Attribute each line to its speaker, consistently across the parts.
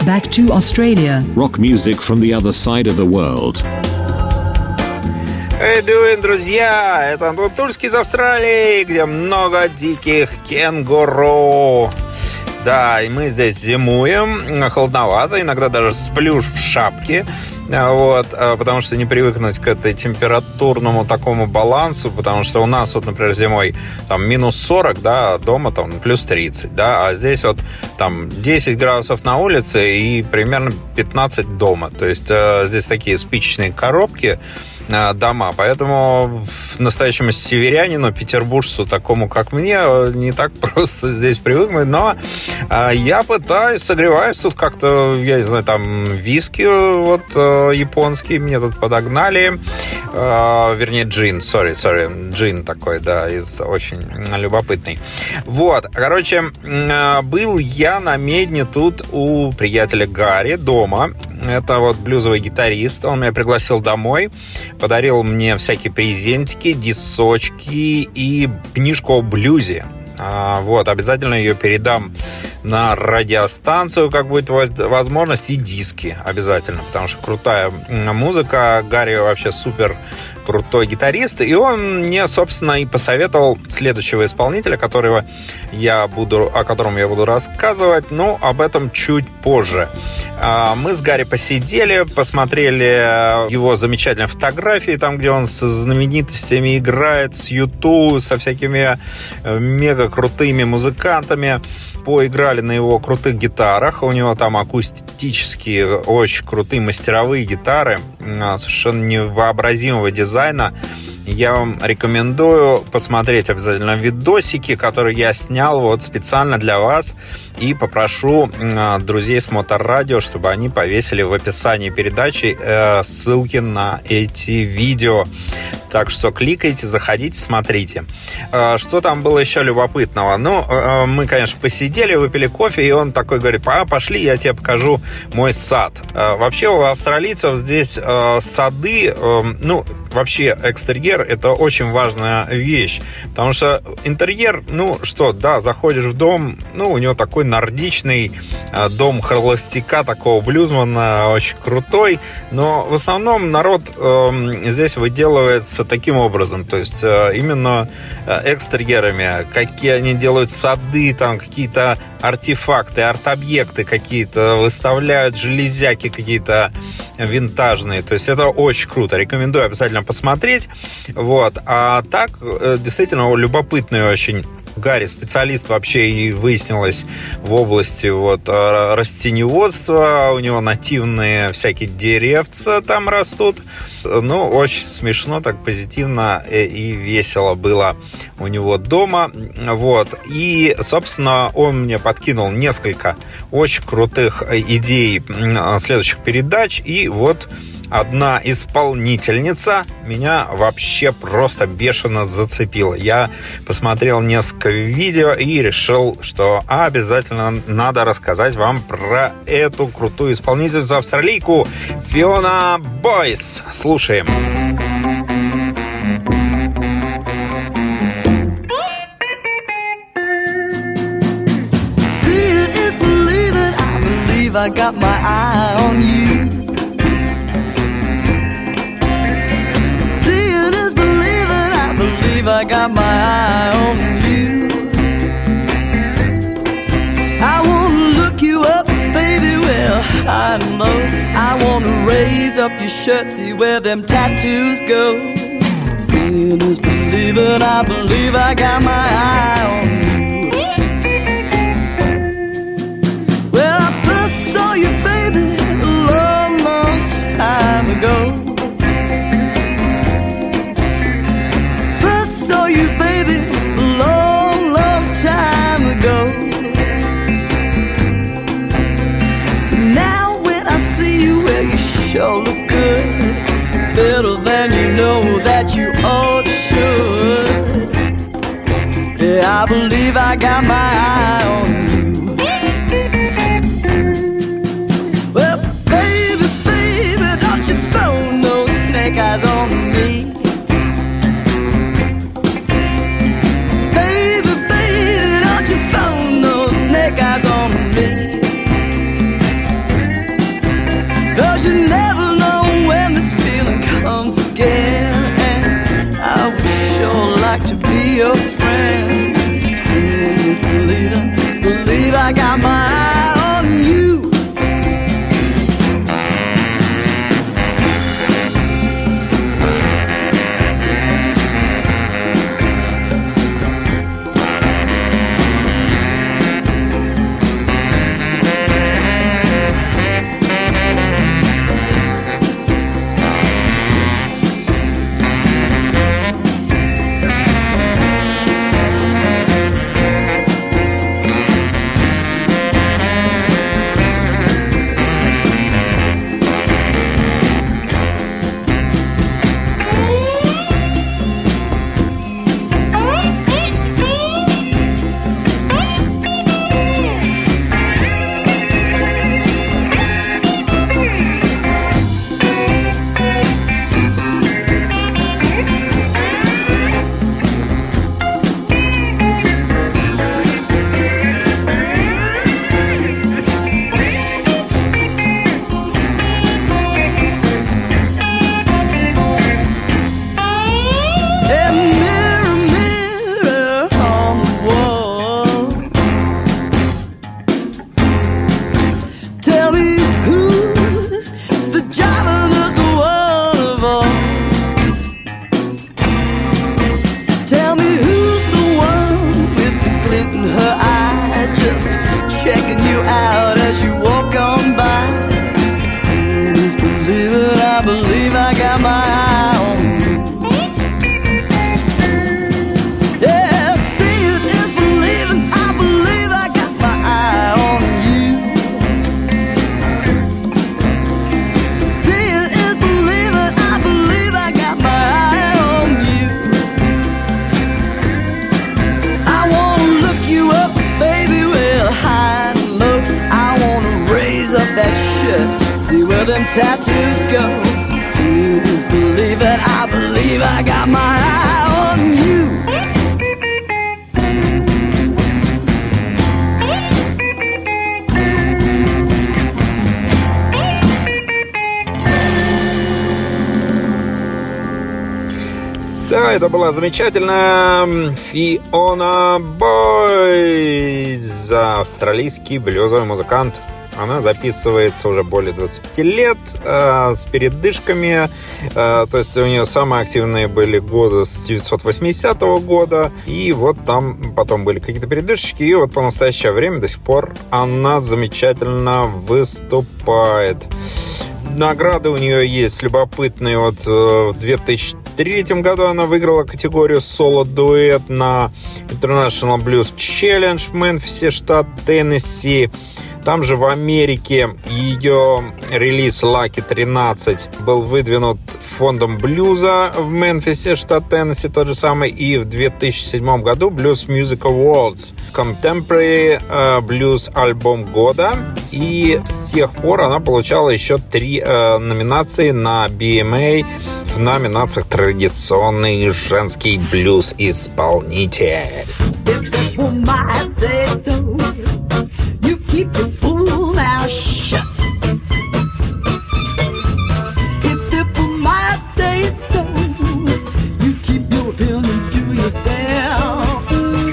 Speaker 1: back to Australia.
Speaker 2: Rock music from the other side of the world.
Speaker 3: Hey doing, друзья! Это Антон Тульский из Австралии, где много диких кенгуру. Да, и мы здесь зимуем, холодновато, иногда даже сплю в шапке. Вот, потому что не привыкнуть к этой температурному такому балансу, потому что у нас вот, например, зимой там минус 40, да, а дома там плюс 30, да, а здесь вот там 10 градусов на улице и примерно 15 дома. То есть здесь такие спичечные коробки, дома, поэтому настоящему северянину, петербуржцу, такому как мне, не так просто здесь привыкнуть, но я пытаюсь, согреваюсь тут как-то, я не знаю, там виски вот японский мне тут подогнали, вернее джин, джин такой, да, очень любопытный. Вот, короче, был я на медне тут у приятеля Гарри дома. Это вот блюзовый гитарист, он меня пригласил домой, подарил мне всякие презентики, дисочки и книжку о блюзе. Вот, обязательно ее передам на радиостанцию, как будет возможность, и диски обязательно, потому что крутая музыка. Гарри вообще супер крутой гитарист, и он мне, собственно, и посоветовал следующего исполнителя, о котором я буду рассказывать, но об этом чуть позже. Мы с Гарри посидели, посмотрели его замечательные фотографии, там, где он со знаменитостями играет, с YouTube, со всякими мега крутыми музыкантами. Поиграли на его крутых гитарах. У него там акустические, очень крутые мастеровые гитары, совершенно невообразимого дизайна. Я вам рекомендую посмотреть обязательно видосики, которые я снял вот специально для вас. И попрошу друзей с Моторадио, чтобы они повесили в описании передачи ссылки на эти видео. Так что кликайте, заходите, смотрите. Что там было еще любопытного? Ну, мы, конечно, посидели, выпили кофе, и он такой говорит: пошли, я тебе покажу мой сад. Вообще у австралийцев здесь сады, ну, вообще экстерьер — это очень важная вещь. Потому что интерьер, ну что, да, заходишь в дом, ну, у него такой нордичный дом холостяка, такого блюзмана, очень крутой. Но в основном народ здесь выделывается таким образом, то есть именно экстерьерами, какие они делают сады, там какие-то артефакты, арт-объекты какие-то выставляют, железяки какие-то винтажные, то есть это очень круто, рекомендую обязательно посмотреть. Вот. А так, действительно, любопытный очень Гарри специалист вообще, и выяснилось в области вот растениеводства, у него нативные всякие деревца там растут. Ну, очень смешно, так позитивно и весело было у него дома. Вот. И, собственно, он мне подкинул несколько очень крутых идей следующих передач. И вот одна исполнительница меня вообще просто бешено зацепила. Я посмотрел несколько видео и решил, что обязательно надо рассказать вам про эту крутую исполнительницу, австралийку Фиона Бойс. Слушаем.
Speaker 4: I got my eye on you. Seeing is believing, I believe I got my eye on you. I wanna look you up, baby, well, I know. I wanna raise up your shirt, see where them tattoos go. Seeing is believing, I believe I got my eye on you. Saw you, baby, a long, long time ago. First saw you, baby, a long, long time ago. Now when I see you, well, you sure look good, better than you know that you ought to should. Yeah, I believe I got my eye on you. Eyes on me, baby, baby, don't you throw no snake eyes on me. I got my eye on you. Tattoos go. See this, believe it, I believe I got my eye on you.
Speaker 3: Да, это была замечательная Фиона Бойз, австралийский блюзовый музыкант. Она записывается уже более 25 лет с передышками. То есть у нее самые активные были годы с 1980 года. И вот там потом были какие-то передышки. И вот по настоящее время до сих пор она замечательно выступает. Награды у нее есть любопытные. Вот в 2003 году она выиграла категорию соло-дуэт на International Blues Challenge в Мемфисе, штат Теннесси. Там же в Америке ее релиз Lucky 13 был выдвинут фондом блюза в Мемфисе, штат Теннесси, тот же самый. И в 2007 году Blues Music Awards Contemporary Blues альбом года. И с тех пор она получала еще 3 номинации на BMA в номинациях «Традиционный женский блюз-исполнитель».
Speaker 4: Keep your fool mouth shut. If it were my say so, you keep your opinions to yourself.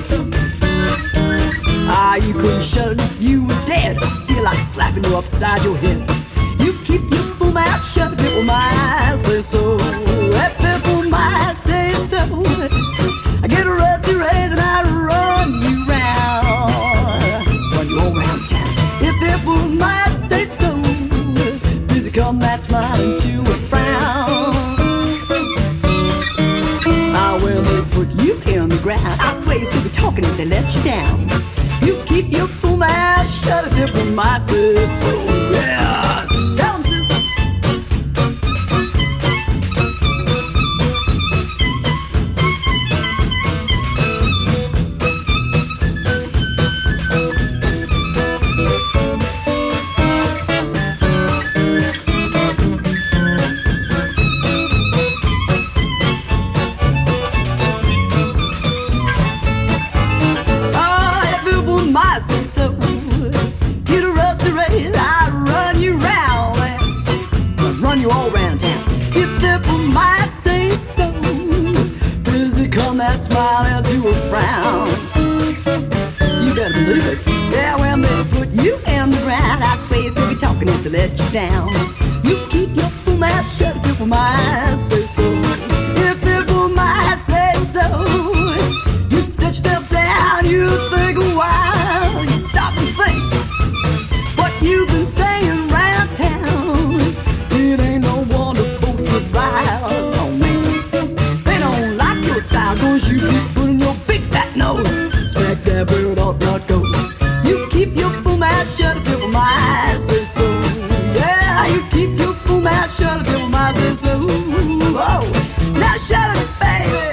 Speaker 4: You couldn't shut it if you were dead. Feel like slapping you upside your head. You keep your fool mouth shut if it were my say so. If it were my say so, I get a rusty razor and I run you round. Run you all around town. If it were my say so, busy come that smile into a frown. When they put you in the ground, I swear you still be talking if they let you down. You keep your fool mouth shut if it were my say so. Yeah, down to my say so. Get a rusty razor, talking is to let you down. You keep your fool mouth shut if people might say so. If people might say so, you set yourself down, you think a while, you stop and think what you've been saying round town. It ain't no wonder folks would rile on me. They don't like your style, cause you keep putting your big fat nose smack that bird ought not go. You keep your fool mouth shut if people might say so. Yeah, you keep your fool mouth shut if people might say so. Oh, now shut it, baby.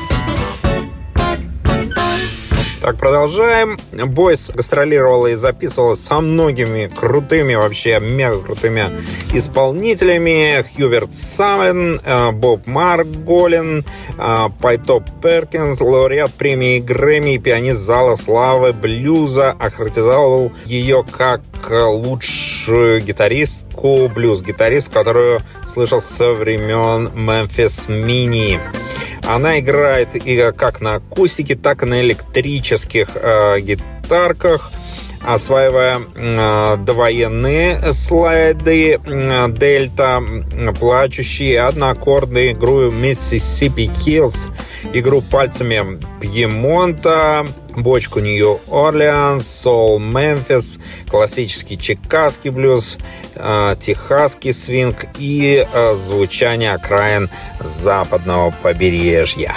Speaker 3: Так, продолжаем. Бойс гастролировала и записывалась со многими крутыми, вообще мега крутыми исполнителями. Хьюберт Самлин, Боб Марголин, Пайтоп Перкинс, лауреат премии Грэмми, пианист зала славы блюза, охарактеризовал ее как лучшую гитаристку, блюз-гитаристку, которую слышал со времен Мемфис Мини. Она играет и как на акустике, так и на электрических гитарках, осваивая довоенные слайды, дельта, плачущие, одноаккордные, игру Mississippi Hills, игру пальцами Пьемонта, бочку Нью-Орлеанс, соул Мемфис, классический чикагский блюз, техасский свинг и звучание окраин западного побережья.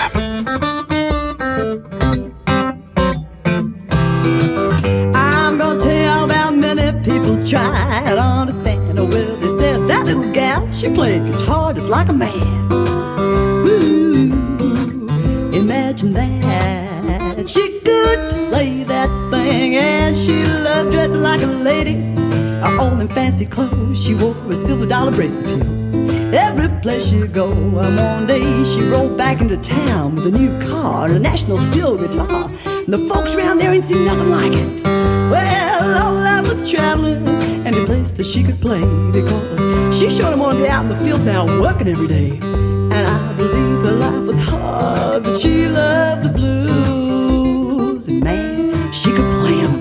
Speaker 4: I'm gonna tell about many people try to understand. Oh, well, they said that little gal, she played guitar just like a man. Ooh, imagine that. She could play that thing, and she loved dressing like a lady. All in fancy clothes, she wore a silver dollar bracelet too. Every place she go, one day she rolled back into town with a new car and a National Steel guitar. And the folks around there ain't seen nothing like it. Well, all that was traveling, any place that she could play, because she showed them one day out in the fields now working every day. And I believe her life was hard, but she loved the blues, and man, she could play them.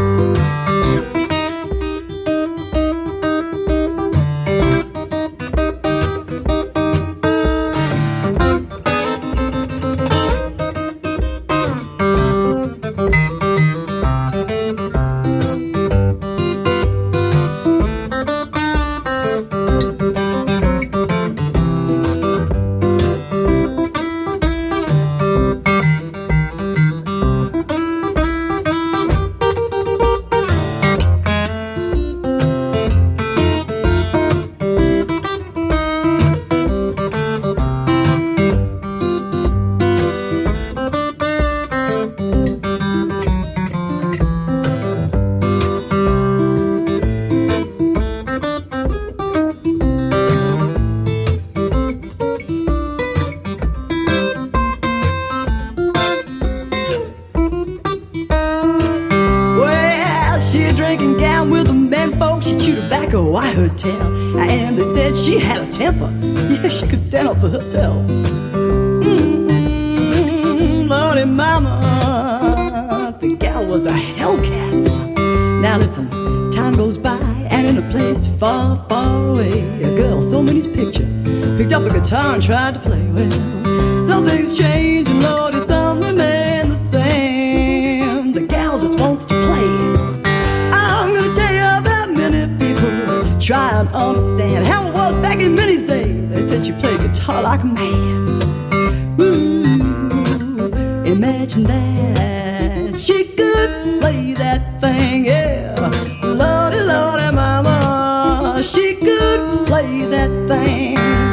Speaker 4: And they said she had a temper. Yeah, she could stand up for herself. Lordy mama, the gal was a hellcat. Now listen, time goes by, and in a place far, far away, a girl saw Minnie's picture, picked up a guitar and tried to play. Well, some things change, and Lordy, some remain the same. The gal just wants to play. I'm gonna tell you about many people try and understand how it was back in Minnie's day. They said she played guitar like a man. Ooh, imagine that. She could play that thing, yeah. Lordy, Lordy, mama, she could play that thing.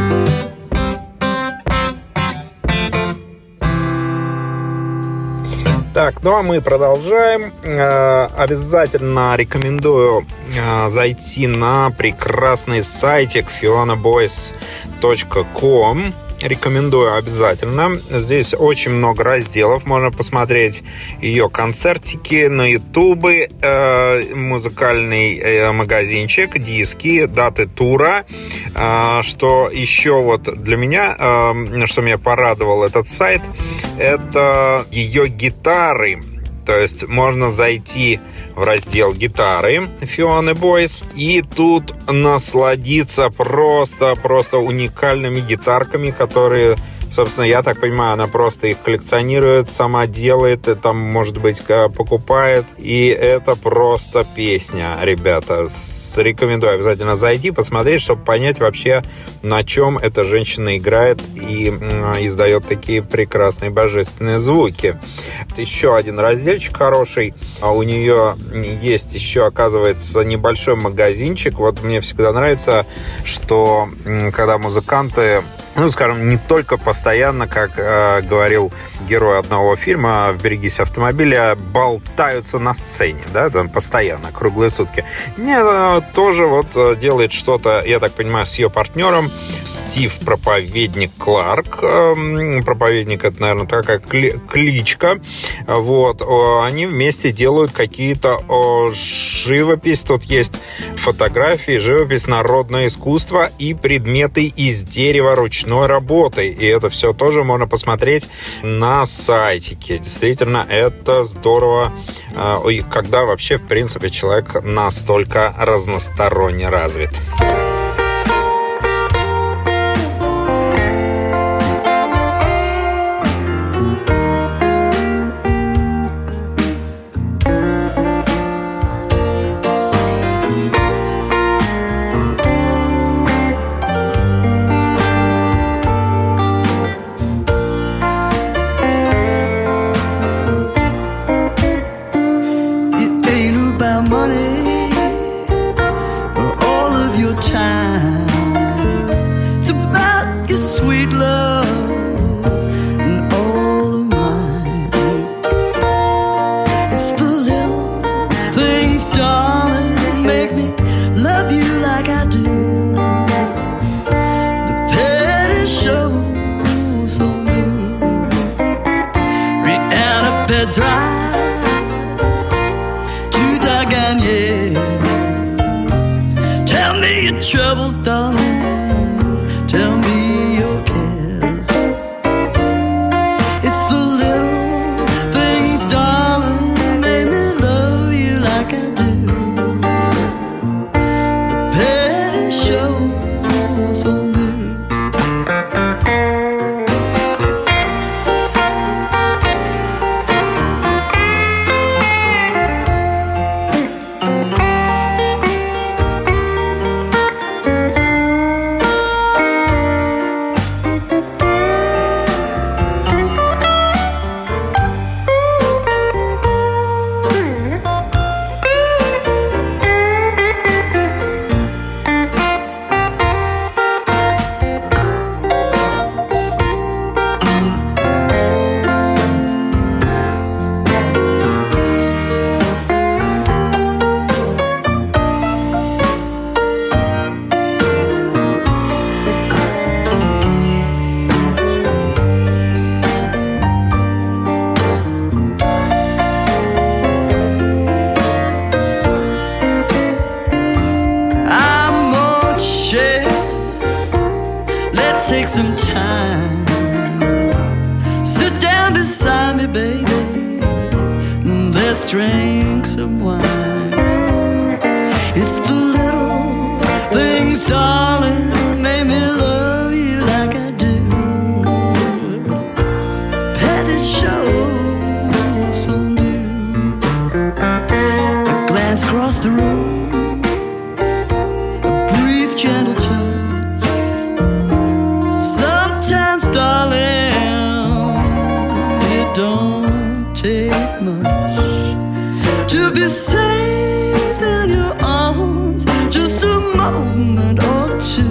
Speaker 3: Так, ну а мы продолжаем. Обязательно рекомендую зайти на прекрасный сайтик fionaboys.com. Рекомендую обязательно. Здесь очень много разделов. Можно посмотреть ее концертики на ютубе, музыкальный магазинчик, диски, даты тура. Что еще вот для меня, что меня порадовал этот сайт, это ее гитары. То есть можно зайти в раздел гитары Фионы Бойс. И тут насладиться просто уникальными гитарками, которые... Собственно, я так понимаю, она просто их коллекционирует, сама делает, и там, может быть, покупает. И это просто песня, ребята. Рекомендую обязательно зайти, посмотреть, чтобы понять вообще, на чем эта женщина играет и издает такие прекрасные божественные звуки. Еще один разделчик хороший. У нее есть еще, оказывается, небольшой магазинчик. Вот мне всегда нравится, что когда музыканты... скажем, не только постоянно, как говорил герой одного фильма «Берегись автомобиля», болтаются на сцене, да, там постоянно, круглые сутки. Нет, она тоже вот делает что-то, я так понимаю, с ее партнером Стив Проповедник Кларк. Проповедник — это, наверное, такая кличка. Вот. Они вместе делают какие-то живопись. Тут есть фотографии, живопись, народное искусство и предметы из дерева ручной работы. И это все тоже можно посмотреть на сайтике. Действительно, это здорово, когда вообще, в принципе, человек настолько разносторонне развит.
Speaker 4: Troubles, darling, tell me your cares. It's the little things, darling, make me love you like I do. The petty shows on me. Some time, sit down beside me, baby, and let's drink some wine. It's the little things, darling, make me love you like I do. Petty shows on you. A glance across the room, a brief gentle touch. Don't take much to be safe in your arms, just a moment or two.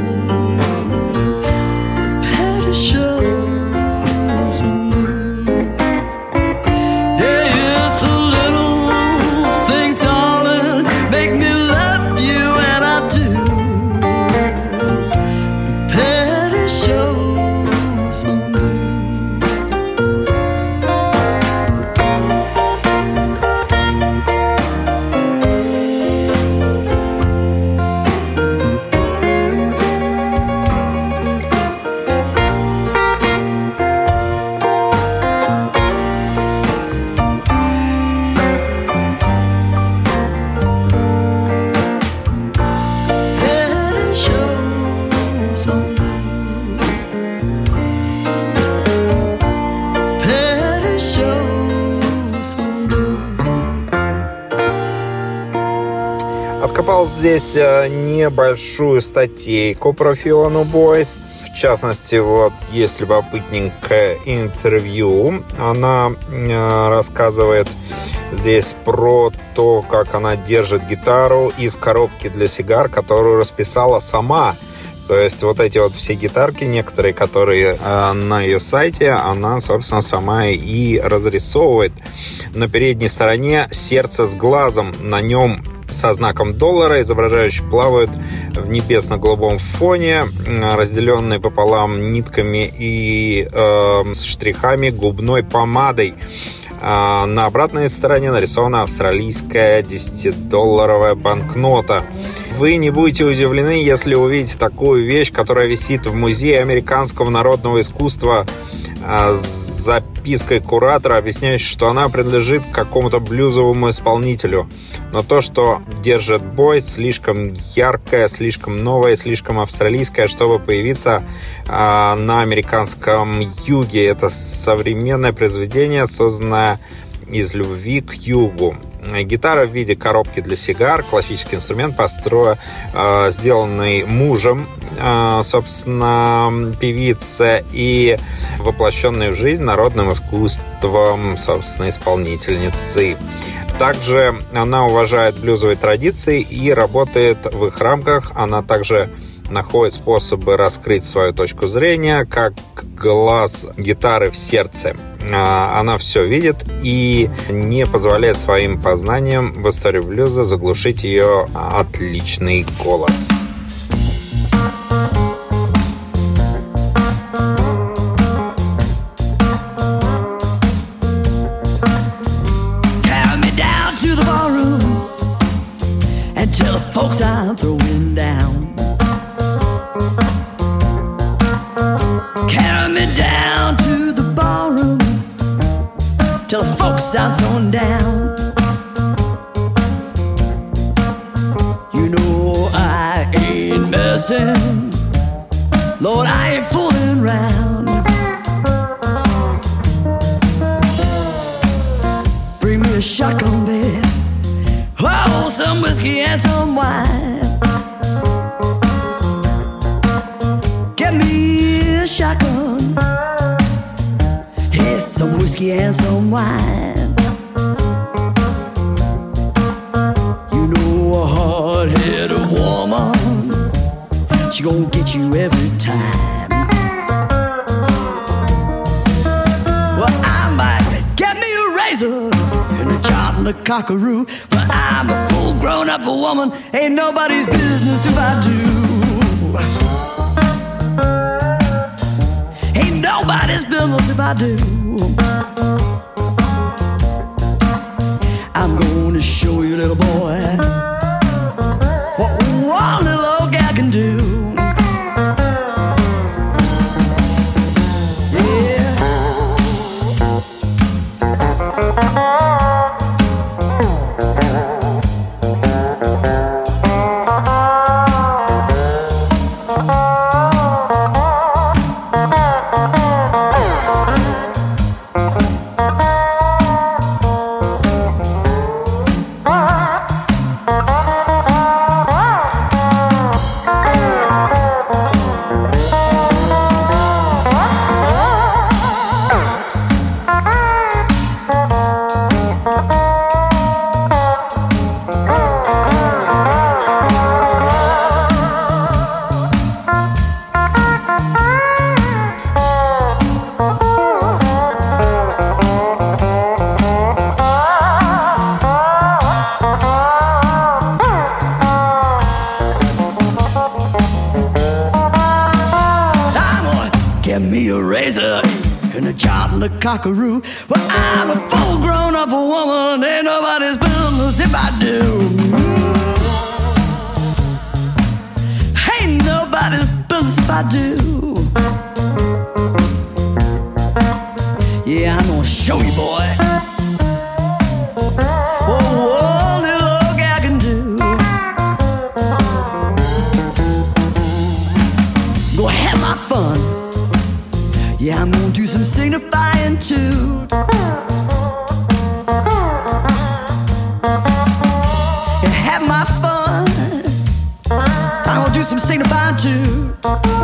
Speaker 4: Petty shows on you. Yeah, it's the little things, darling,
Speaker 3: Откопал здесь небольшую статейку про Фиону Бойс. В частности, вот есть любопытненькое интервью. Она рассказывает здесь про то, как она держит гитару из коробки для сигар, которую расписала сама. То есть вот эти вот все гитарки, некоторые, которые на ее сайте, она, собственно, сама и разрисовывает. На передней стороне сердце с глазом. На нем со знаком доллара, изображающий плавают в небесно-голубом фоне, разделенные пополам нитками и штрихами губной помадой. На обратной стороне нарисована австралийская 10-долларовая банкнота. Вы не будете удивлены, если увидите такую вещь, которая висит в Музее американского народного искусства с запиской куратора, объясняющей, что она принадлежит какому-то блюзовому исполнителю. Но то, что держит Бойс, слишком яркое, слишком новое, слишком австралийское, чтобы появиться на американском юге. Это современное произведение, созданное из любви к югу. Гитара в виде коробки для сигар, классический инструмент, сделанный мужем, собственно, певицы, и воплощенный в жизнь народным искусством, собственно, исполнительницы. Также она уважает блюзовые традиции и работает в их рамках. Она также находит способы раскрыть свою точку зрения, как глаз гитары в сердце. Она все видит и не позволяет своим познаниям в истории блюза заглушить ее отличный голос.
Speaker 4: Till the folks I'm throwing down. You know I ain't messing, Lord, I ain't fooling around. Bring me a shotgun, babe, oh, some whiskey and some wine. Get me a shotgun, some whiskey and some wine. You know a hard-headed woman, she gon' get you every time. Well, I might get me a razor and a chop and a cockaroo, but I'm a full grown-up woman, ain't nobody's business if I do. Ain't nobody's business if I do. I'm gonna show you, little boy, what one little old gal can do. Cockaroo. Well, I'm a full grown-up woman, ain't nobody's business if I do. Ain't nobody's business if I do. Yeah, I'm gonna show you, boy, what one little old gal can do. Go have my fun. Yeah, I'm gonna do some signifying too. Yeah, have my fun. some signifying too.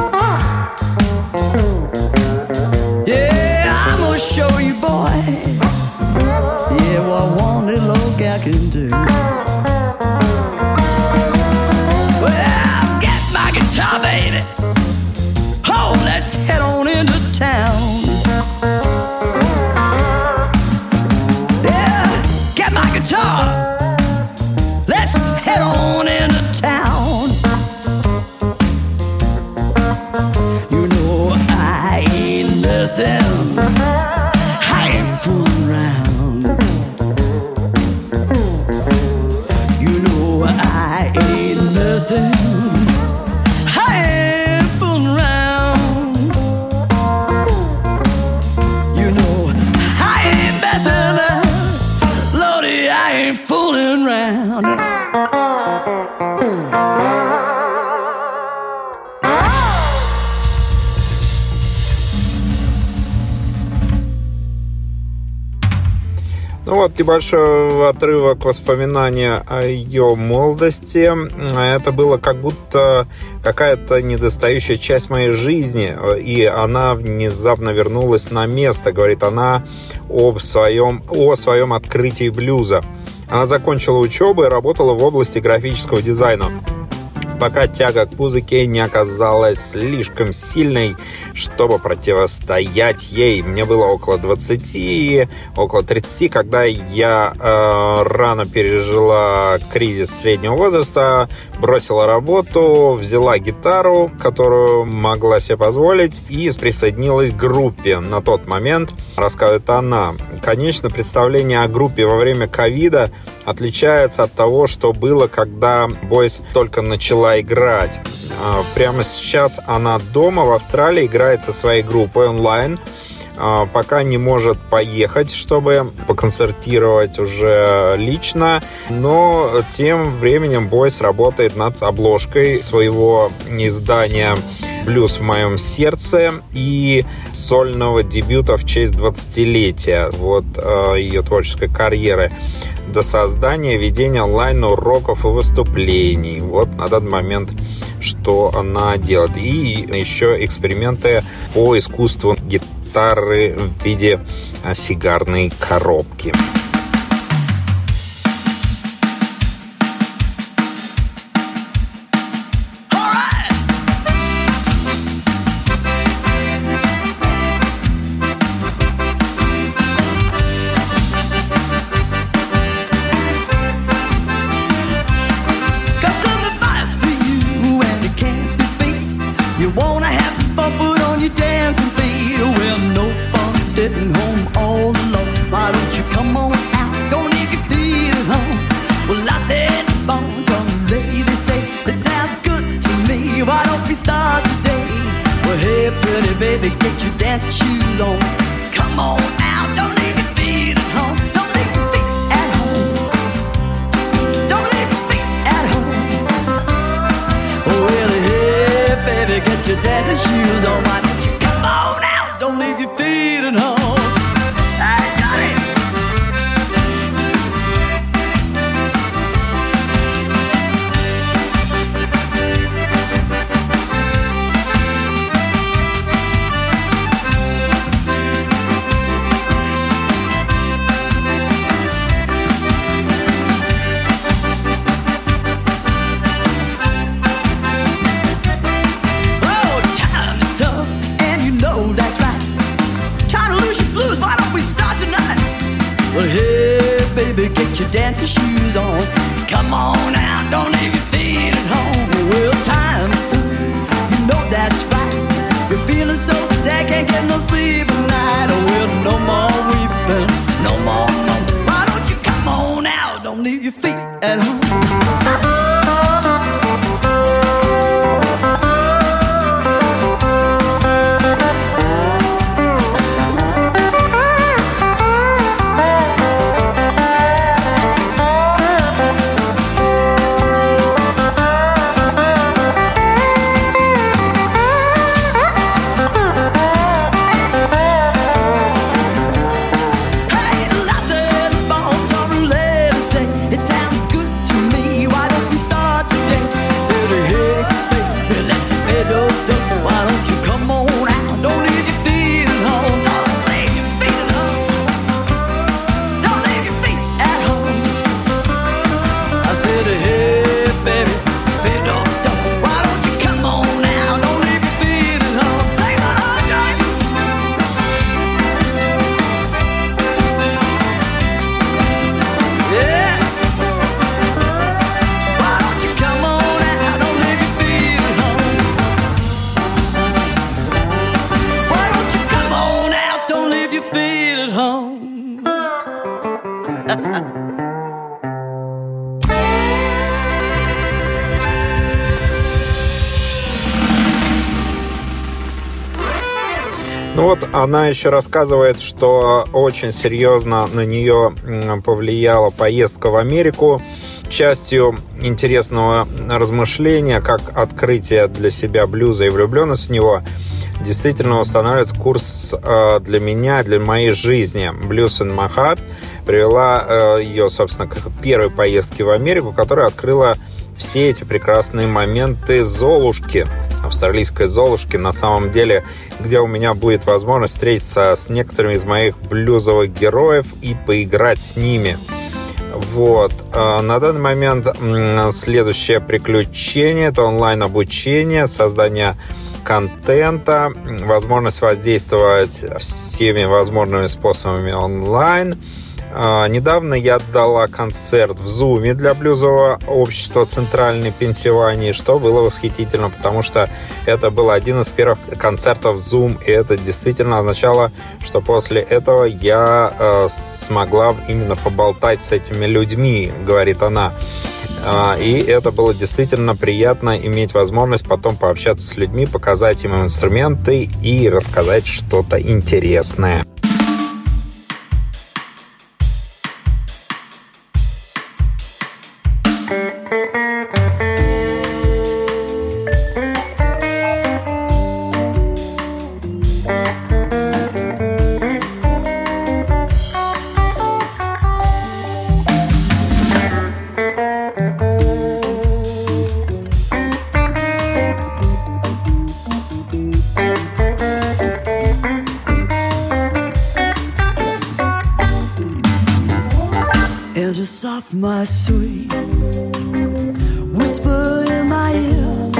Speaker 4: Yeah, I'm gonna show you, boy. Yeah, what one little old gal can do. Well, get my guitar, baby. Oh, let's head on into town. Yeah, get my guitar. Let's head on into town. You know I ain't messing, I ain't fooling around. You know I ain't messing, I ain't fooling around. You know I ain't messing, Lordy, I ain't fooling around.
Speaker 3: Ну вот, небольшой отрывок воспоминания о ее молодости. Это было как будто какая-то недостающая часть моей жизни, и она внезапно вернулась на место, говорит она о своем открытии блюза. Она закончила учебу и работала в области графического дизайна, пока тяга к музыке не оказалась слишком сильной, чтобы противостоять ей. Мне было около 20, около 30, когда я рано пережила кризис среднего возраста, бросила работу, взяла гитару, которую могла себе позволить, и присоединилась к группе. На тот момент, рассказывает она, конечно, представление о группе во время ковида отличается от того, что было, когда Boys только начала играть. Прямо сейчас она дома в Австралии играет со своей группой онлайн, пока не может поехать, чтобы поконцертировать уже лично, но тем временем Boys работает над обложкой своего издания «Блюз в моем сердце» и сольного дебюта в честь 20-летия ее творческой карьеры до создания, ведения онлайн-уроков и выступлений. Вот на данный момент, что она делает. И еще эксперименты по искусству гитары в виде сигарной коробки.
Speaker 4: Shoes on, come on out, don't leave your feet at home, don't leave your feet at home, don't leave your feet at home. Oh well, hey baby, get your dancing shoes on, why don't you come on out, don't leave your feet at home. I got it. Get your dancing shoes on, come on out, don't leave your feet at home. Well, time's tough, you know that's right. You're feeling so sad, can't get no sleep at night. Oh, well, no more weeping, no more, no. Why don't you come on out, don't leave your feet at home. It sounds good to
Speaker 3: Ну вот она еще рассказывает, что очень серьезно на нее повлияла поездка в Америку. Частью интересного размышления, как открытие для себя блюза и влюбленность в него, действительно устанавливается курс для меня, для моей жизни. Blues in my heart привела ее, собственно, к первой поездке в Америку, которая открыла все эти прекрасные моменты Золушки, австралийской Золушки, на самом деле, где у меня будет возможность встретиться с некоторыми из моих блюзовых героев и поиграть с ними. Вот. На данный момент следующее приключение – это онлайн-обучение, создание контента, возможность воздействовать всеми возможными способами онлайн. Недавно я дала концерт в Zoom для блюзового общества «Центральной Пенсильвании», что было восхитительно, потому что это был один из первых концертов в Zoom, и это действительно означало, что после этого я смогла именно поболтать с этими людьми, говорит она. И это было действительно приятно иметь возможность потом пообщаться с людьми, показать им инструменты и рассказать что-то интересное.
Speaker 4: Soft, my sweet, whisper in my ear,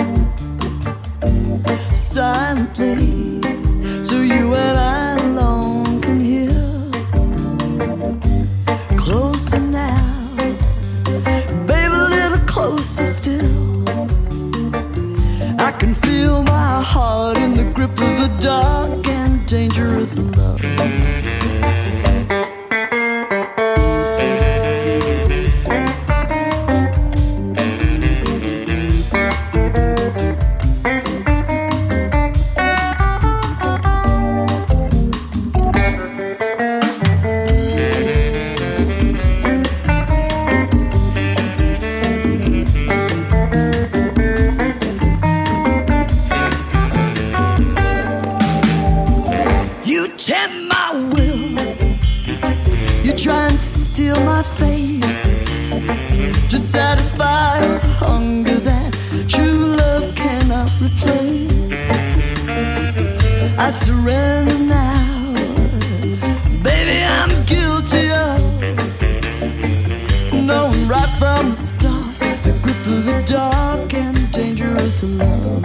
Speaker 4: silently, so you and I alone can hear. Closer now, baby, a little closer still. I can feel my heart in the grip of a dark and dangerous love. I surrender now, baby, I'm guilty of knowing right from the start the grip of the dark and dangerous love.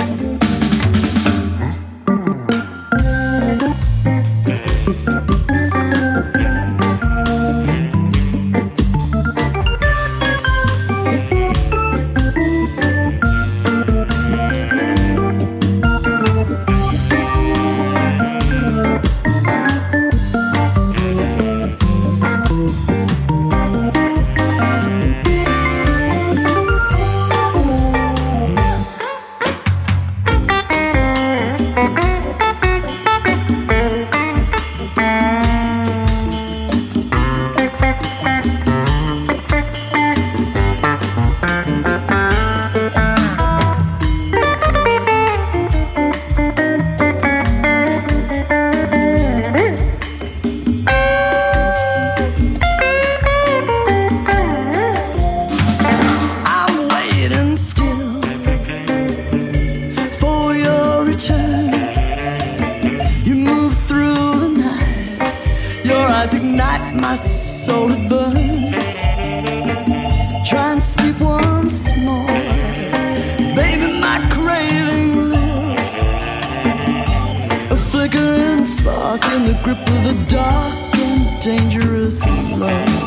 Speaker 4: In the grip of the dark and dangerous love.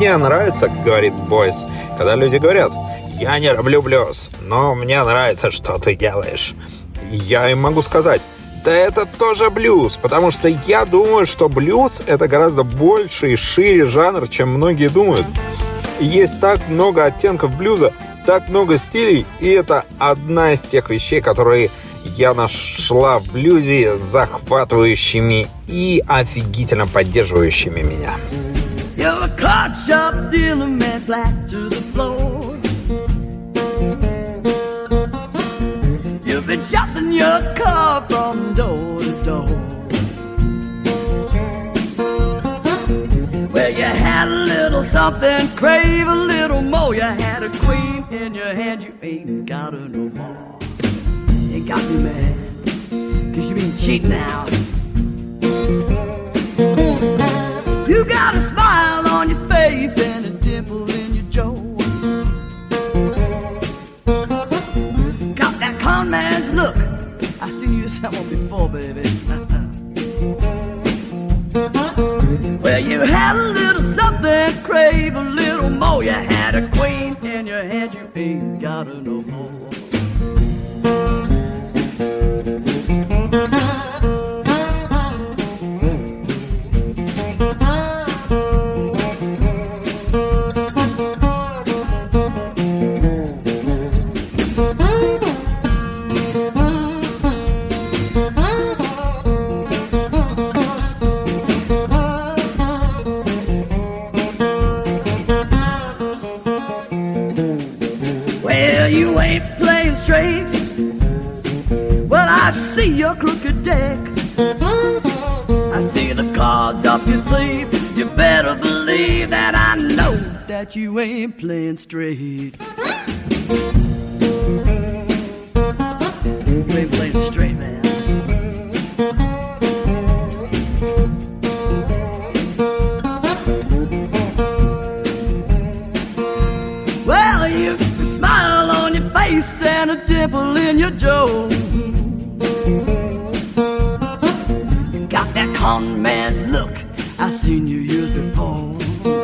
Speaker 3: Мне нравится, говорит Бойс, когда люди говорят: я не люблю блюз, но мне нравится, что ты делаешь. Я им могу сказать: да это тоже блюз, потому что я думаю, что блюз — это гораздо больше и шире жанр, чем многие думают. Есть так много оттенков блюза, так много стилей, и это одна из тех вещей, которые я нашла в блюзе захватывающими и офигительно поддерживающими меня.
Speaker 4: You're a card shop dealer, man, flat to the floor. You've been shopping your car from door to door. Well, you had a little something, crave a little more. You had a queen in your hand, you ain't got her no more. Ain't got me mad, 'cause you been cheating now. You got a smile on your face and a dimple in your jaw. Got that con man's look. I seen you someone before, baby. Well, you had a little something, crave a little more. You had a queen in your hand, you ain't got her no more. Your crooked deck, I see the cards up your sleeve. You better believe that I know that you ain't playing straight. You ain't playing straight, man. Well, you smile on your face and a dimple in your jaw. Con man's look, I've seen you years before.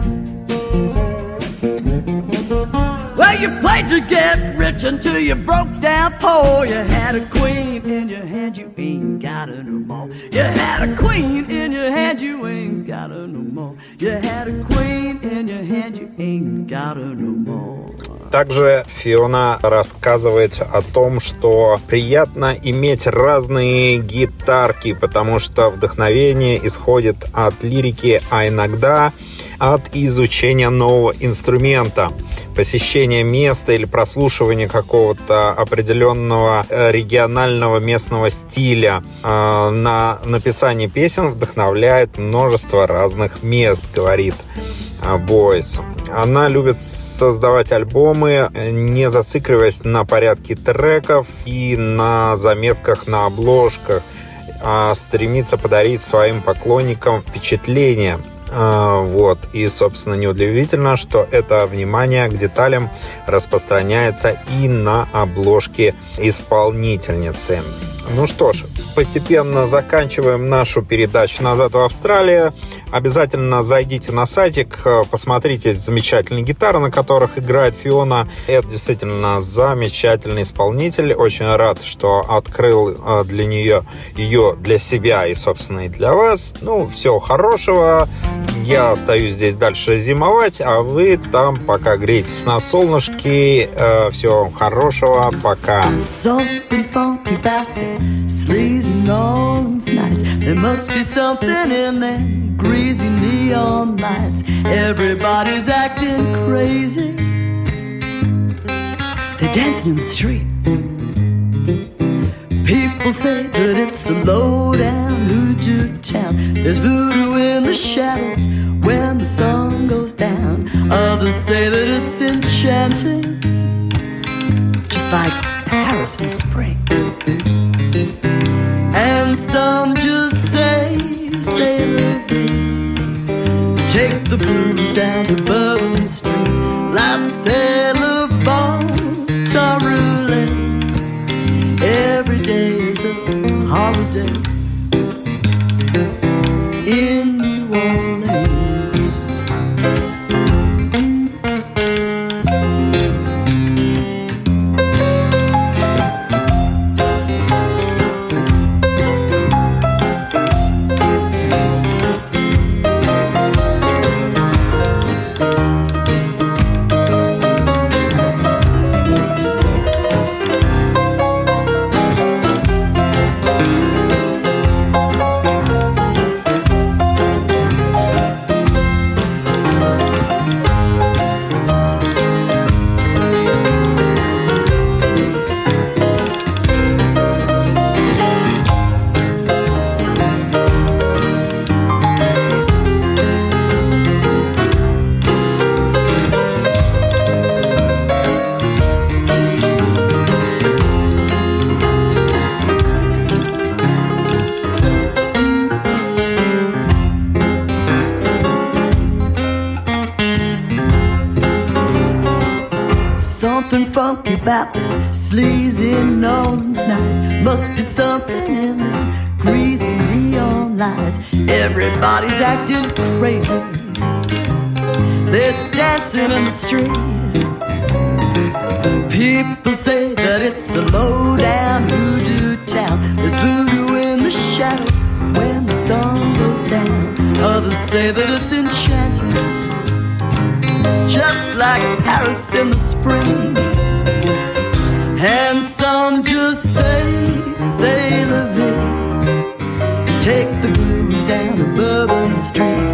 Speaker 4: Well, you played to get rich until you broke down poor. You had a queen in your hand, you ain't got her no more. You had a queen in your hand, you ain't got her no more. You had a queen in your hand, you ain't got her no more.
Speaker 3: Также Фиона рассказывает о том, что приятно иметь разные гитарки, потому что вдохновение исходит от лирики, а иногда от изучения нового инструмента, посещения места или прослушивания какого-то определенного регионального местного стиля. На написание песен вдохновляет множество разных мест, говорит Бойс. Она любит создавать альбомы, не зацикливаясь на порядке треков и на заметках на обложках, а стремится подарить своим поклонникам впечатление. Вот. И, собственно, неудивительно, что это внимание к деталям распространяется и на обложке исполнительницы. Ну что ж, постепенно заканчиваем нашу передачу «Назад в Австралию». Обязательно зайдите на сайтик, посмотрите замечательные гитары, на которых играет Фиона. Это действительно замечательный исполнитель. Очень рад, что открыл для нее ее для себя и, собственно, и для вас. Ну, всего хорошего. Я остаюсь здесь дальше зимовать, а вы там пока грейтесь на солнышке. Всего вам хорошего. Пока. Sleazy New Orleans nights. There must be something in them greasy neon lights. Everybody's acting crazy. They're dancing in the street. People say that it's a low-down hoodoo town. There's voodoo in the shadows when the sun goes down. Others say that it's enchanting, just like Paris in spring. And some just say la vie. Take the blues down to Bourbon Street. La c'est le bon temps roulé. Every day is a holiday in New Orleans.
Speaker 4: something funky about the sleazy Nolan's night. Must be something in the greasy neon lights. Everybody's acting crazy. They're dancing in the street. People say that it's a low-down voodoo town. There's voodoo in the shadows when the sun goes down. Others say that it's enchanted, just like Paris in the spring. And some just say, say la vie, and take the blues down to Bourbon Street.